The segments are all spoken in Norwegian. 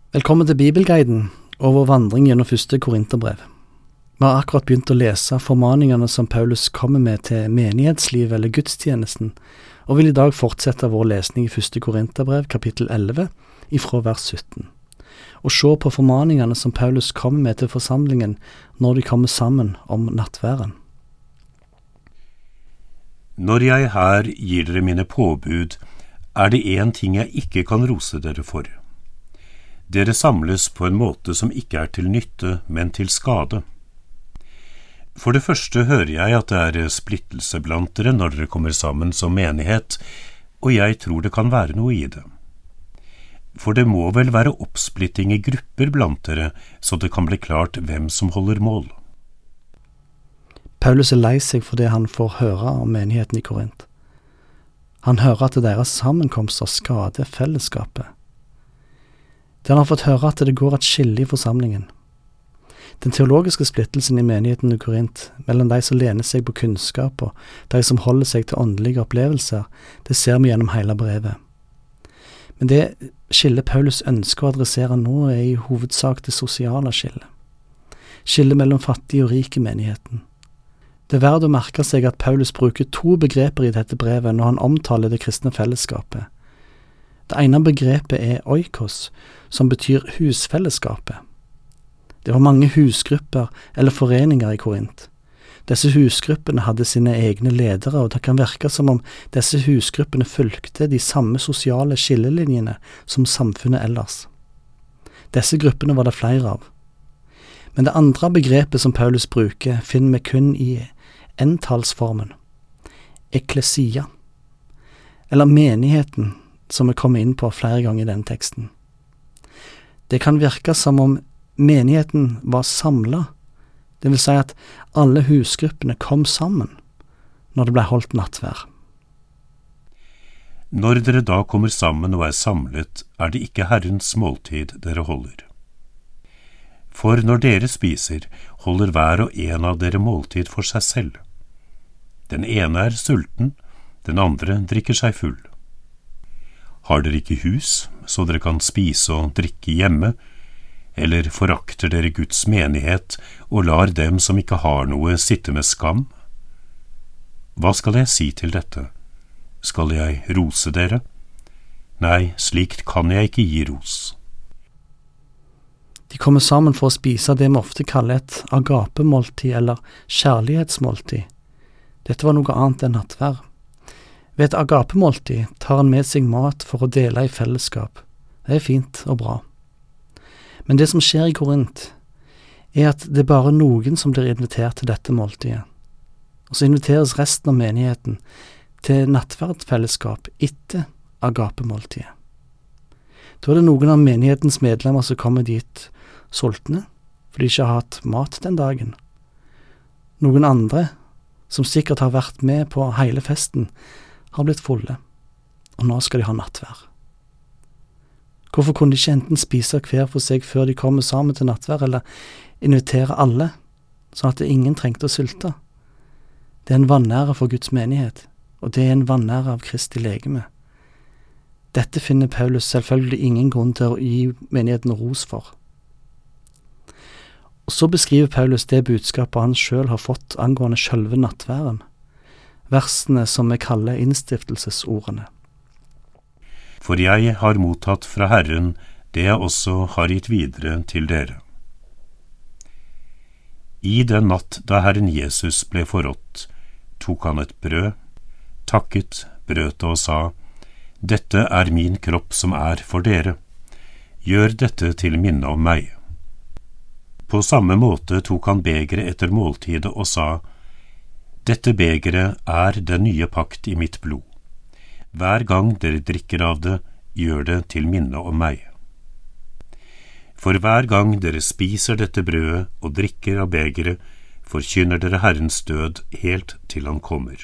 Velkommen til Bibelguiden og vår vandring gjennom første Korinterbrev. Vi har akkurat begynt å lese formaningene som Paulus kommer med til menighetslivet eller gudstjenesten, og vil i dag fortsette vår lesning i første Korinterbrev, kapittel 11, ifra vers 17. Og se på formaningene som Paulus kommer med til forsamlingen når de kommer sammen om nattværen. Når jeg her gir dere mine påbud, det en ting jeg ikke kan rose dere for. Dere samles på en måte som ikke til nytte, men til skade. For det første hører jeg at det splittelse blant dere når dere kommer sammen som menighet, og jeg tror det kan være noe i det. For det må vel være oppsplitting i grupper blant dere, så det kan bli klart hvem som holder mål. Paulus lei seg for det han får høre om menigheten i Korint. Han hører at deres sammenkomster skader fellesskapet. Han har fått høre at det går et skille i forsamlingen. Den teologiske splittelsen i menigheten i Korint, mellom de som lener seg på kunnskap og de som holder seg til åndelige opplevelser, det ser vi gjennom hele brevet. Men det skillet Paulus ønsker å adressere nå i hovedsak det sosiale skillet. Skillet mellom fattig og rik i menigheten. Det verdt å merke seg at Paulus bruker to begreper i dette brevet når han omtaler det kristne fellesskapet. Det ene begrepet oikos, som betyr husfellesskapet. Det var mange husgrupper eller foreninger i Korint. Disse husgruppene hadde sine egne ledere, og det kan virke som om disse husgruppene fulgte de samme sosiale skillelinjene som samfunnet ellers. Disse gruppene var det flere av. Men det andre begrepet som Paulus bruker, finner vi kun i entallsformen. Eklesia, eller menigheten, som vi kommer inn på flere ganger i denne teksten. Det kan virke som om menigheten var samlet, det vil si at alle husgruppene kom sammen når det ble holdt nattvær. Når dere da kommer sammen og samlet, det ikke Herrens måltid dere holder. For når dere spiser, holder hver og en av dere måltid for seg selv. Den ene sulten, den andre drikker seg full. Har dere ikke hus, så dere kan spise og drikke hjemme, eller forakter dere Guds menighet og lar dem som ikke har noe sitte med skam? Hva skal jeg si til dette? Skal jeg rose dere? Nei, slikt kan jeg ikke gi ros. De kommer sammen for å spise det vi ofte kaller et agapemåltid eller kjærlighetsmåltid. Dette var noe annet enn nattvær. Ved et agapemåltid tar han med seg mat for å dele i fellesskap. Det fint og bra. Men det som skjer i Korint, at det bare noen som blir invitert til dette måltidet. Og så inviteres resten av menigheten til nattverdfellesskap etter agapemåltidet. Da det noen av menighetens medlemmer som kommer dit sultne, for de ikke har hatt mat den dagen. Noen andre, som sikkert har vært med på hele festen, har blitt fulle, og nå skal de ha nattvær. Hvorfor kunne de ikke enten spise hver for seg før de kommer sammen til nattvær, eller invitere alle, sånn at ingen trengte å sulte? Det en vanære for Guds menighet, og det en vanære av Kristi legeme. Dette finner Paulus selvfølgelig ingen grunn til å gi menigheten ros for. Og så beskriver Paulus det budskapet han selv har fått angående selve nattværen. Versene som vi kaller innstiftelsesordene. For jeg har mottatt fra Herren det jeg også har gitt videre til dere. I den natt da Herren Jesus ble forrådt, tok han et brød, takket, brøt og sa, «Dette min kropp som for dere. Gjør dette til minne om meg.» På samme måte tok han begeret etter måltidet og sa, «Dette begeret den nye pakt i mitt blod. Hver gang dere drikker av det, gjør det til minne om meg. For hver gang dere spiser dette brødet og drikker av begeret, forkynner dere Herrens død helt til han kommer.»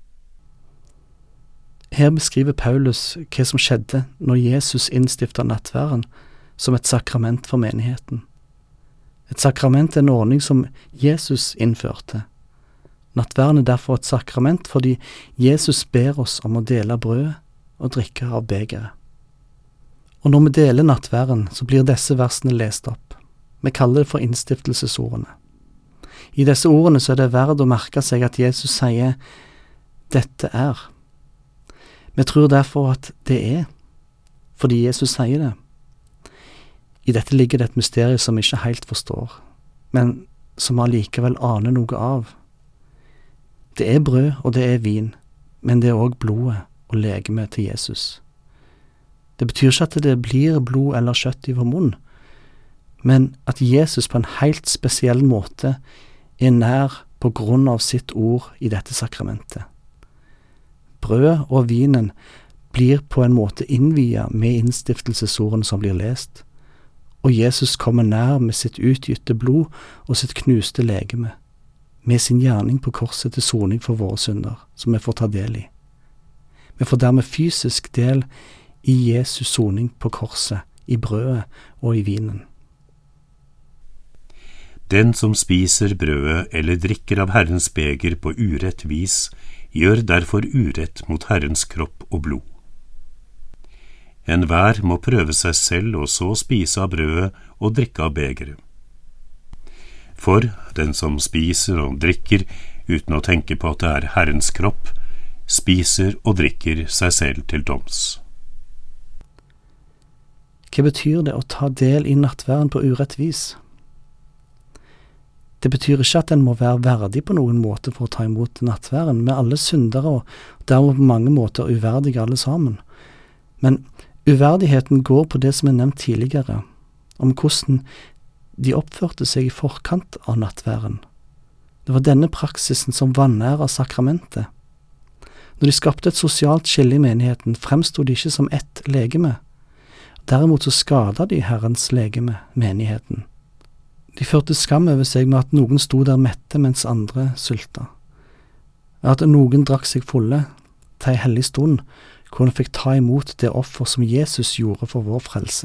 Her beskriver Paulus hva som skjedde når Jesus innstiftet nattværen som et sakrament for menigheten. Et sakrament en ordning som Jesus innførte. Nattværen derfor et sakrament fordi Jesus ber oss om å dele brødet og drikke av begeret. Og når vi deler nattværen, så blir disse versene lest opp. Vi kaller det for innstiftelsesordene. I disse ordene så er det verdt å merke seg at Jesus sier «dette er». Vi tror derfor at det er, fordi Jesus sier det. I dette ligger det et mysterium som vi ikke helt forstår, men som allikevel aner noe av. Det er brød og det er vin, men det er også blodet og legeme til Jesus. Det betyr ikke at det blir blod eller kjøtt i vår munn, men at Jesus på en helt spesiell måte er nær på grunn av sitt ord i dette sakramentet. Brød og vinen blir på en måte innviet med innstiftelsesordene som blir lest, og Jesus kommer nær med sitt utgytte blod og sitt knuste legeme, med sin gjerning på korset til soning for våre synder, som vi får ta del i. Vi får dermed fysisk del i Jesus soning på korset, i brødet og i vinen. Den som spiser brødet eller drikker av Herrens beger på urett vis, gjør derfor urett mot Herrens kropp og blod. Enhver må prøve seg selv og så spise av brødet og drikke av begeret. For den som spiser og drikker uten å tenke på at det er Herrens kropp, spiser og drikker seg selv til doms. Hva betyr det å ta del i nattværen på urett vis? Det betyr ikke at en må være verdig på noen måte for å ta imot nattværen, med alle syndere og dermed på mange måter uverdige alle sammen. Men uverdigheten går på det som er nevnt tidligere, om hvordan de oppførte seg i forkant av nattværen. Det var denne praksisen som vanæret sakramentet. Når de skapte et sosialt skille i menigheten, fremstod de ikke som ett legeme. Derimot så skadet de Herrens legeme, menigheten. De førte skam over seg med at noen sto der mette mens andre sulta. At noen drakk seg fulle til en hellig stund, hvor en fikk ta imot det offer som Jesus gjorde for vår frelse.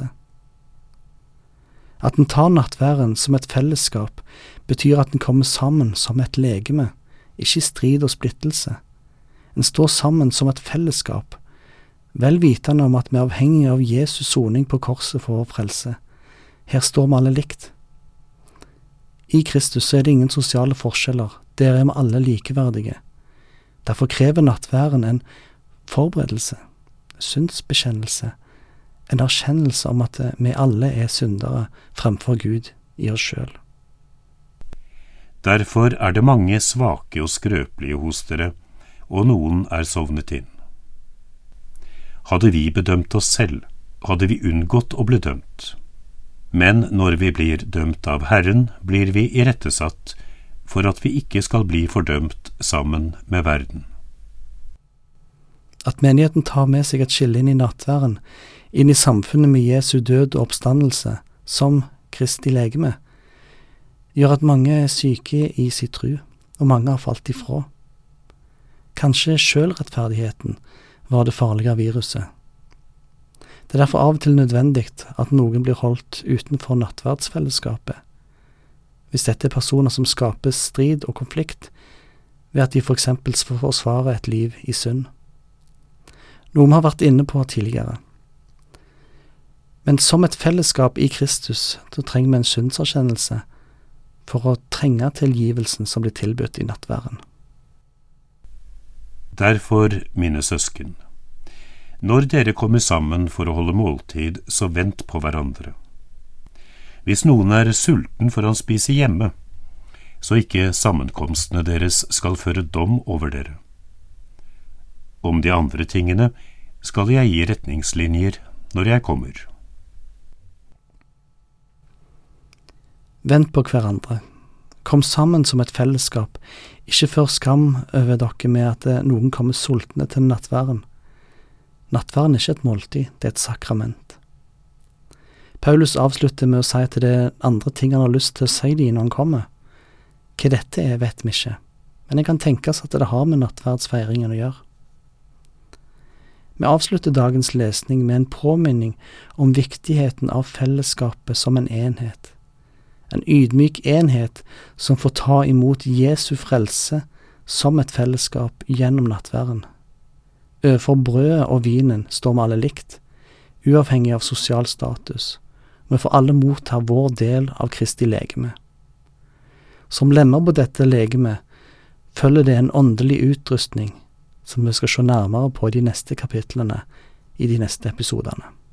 At en tar nattværen som et fellesskap, betyr at en kommer sammen som et legeme, ikke i strid og splittelse. En står sammen som et fellesskap, vel vitende om at vi er avhengige av Jesus soning på korset for vår frelse. Her står vi alle likt. I Kristus er det ingen sosiale forskjeller, der er vi alle likeverdige. Derfor krever nattværen en forberedelse, syndsbekjennelse, en erkjennelse om at vi alle er syndere fremfor Gud i oss selv. Derfor er det mange svake og skrøpelige hos dere, og noen er sovnet inn. Hadde vi bedømt oss selv, hadde vi unngått å bli dømt. Men når vi blir dømt av Herren, blir vi irettesatt, for at vi ikke skal bli fordømt sammen med verden. At menigheten tar med seg et skille inn i nattværen, inn i samfunnet med Jesu død og oppstandelse, som Kristi legeme, gjør at mange er syke i sitt tro, og mange har falt ifra. Kanskje selvrettferdigheten var det farlige viruset. Det er derfor av og til nødvendig at noen blir holdt utenfor nattverdsfellesskapet. Hvis dette er personer som skaper strid og konflikt, ved at de for eksempel forsvarer et liv i synd. Noe vi har vært inne på tidligere. Men som et fellesskap i Kristus, så trenger vi en syndserkjennelse for å trenge tilgivelsen som blir tilbudt i nattværen. Derfor, mine søsken, når dere kommer sammen for å holde måltid, så vent på hverandre. Hvis noen er sulten for å spise hjemme, så ikke sammenkomstene deres skal føre dom over dere. Om de andre tingene skal jeg gi retningslinjer når jeg kommer. Vent på hverandre. Kom sammen som et fellesskap. Ikke før skam over dere med at noen kommer sultne til nattværen. Nattværen er ikke et måltid, det er et sakrament. Paulus avslutter med å si at det er andre ting han har lyst til å si dem når han kommer. Hva dette er, vet vi ikke, men det kan tenkes at det har med nattverdsfeiringen å gjøre. Vi avslutter dagens lesning med en påminning om viktigheten av fellesskapet som en enhet. En ydmyk enhet som får ta imot Jesu frelse som et fellesskap gjennom nattværen. Overfor brødet og vinen står vi alle likt, uavhengig av sosial status. Vi får alle motta vår del av Kristi legeme. Som lemmer på dette legeme følger det en åndelig utrustning som vi skal se nærmere på i de neste kapitlene i de neste episodene.